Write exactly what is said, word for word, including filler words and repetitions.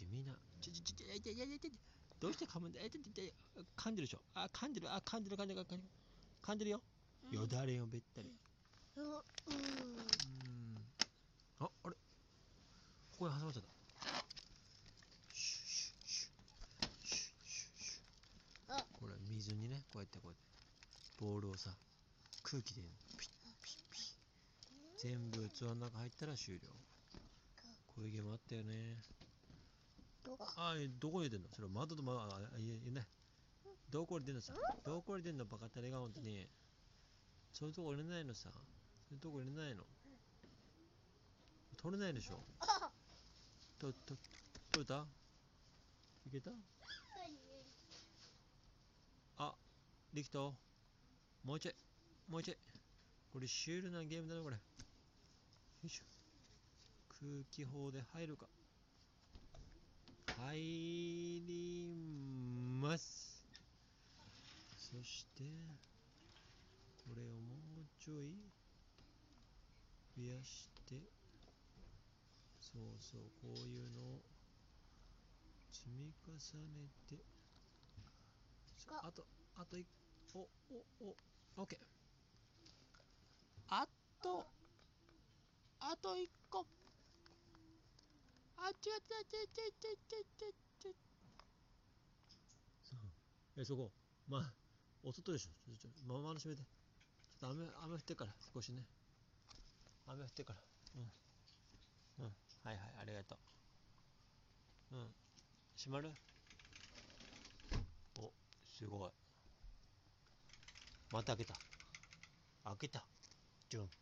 地味な。ちょちょちょちょ、いやいやいやいや、どうして噛むんだ。え、ちょちょちょ、噛んでるでしょ。あ、噛んでる、あ、噛んでる、噛んでる、噛んでる。噛んでるよ。よだれよ、べったり。 うん。うん。 うーん。あ、あれ、ここに挟まっちゃった。シュッシュッシュッシュッシュッシュッ。 あ、 これ水にね、こうやってこうやってボールをさ、空気でピッピッピッ、全部器の中入ったら終了。こういうゲームあったよね。 どこ？ あ、どこに出んのそれ窓とまあ、あ、いえね。どこに出んのさ。どこに出んのバカタレが本当に。そういうとこ入れないのさ。そういうとこ入れないの。取れないでしょ。 あ、 と、と、取れたいけたあ、できた。もうちょい。もうちょい。これシュールなゲームだな、これ。よいしょ。空気砲で入るか。入ります。そして、これをもうちょい増やして、そうそう、こういうのを積み重ねて、あと、あといっこ、お、お、お、オッケー。あと、あといっこ。あ、違った、違った、違った、違った、違った。そう。え、そこ、まあ、お外でしょ。ちょ、ちょ、ままの閉めて。ちょっと雨、雨降ってから、少しね。雨降ってから。うん。うん。はいはい、ありがとう。うん。閉まる？お、すごい。また開けた。開けた。ジュン。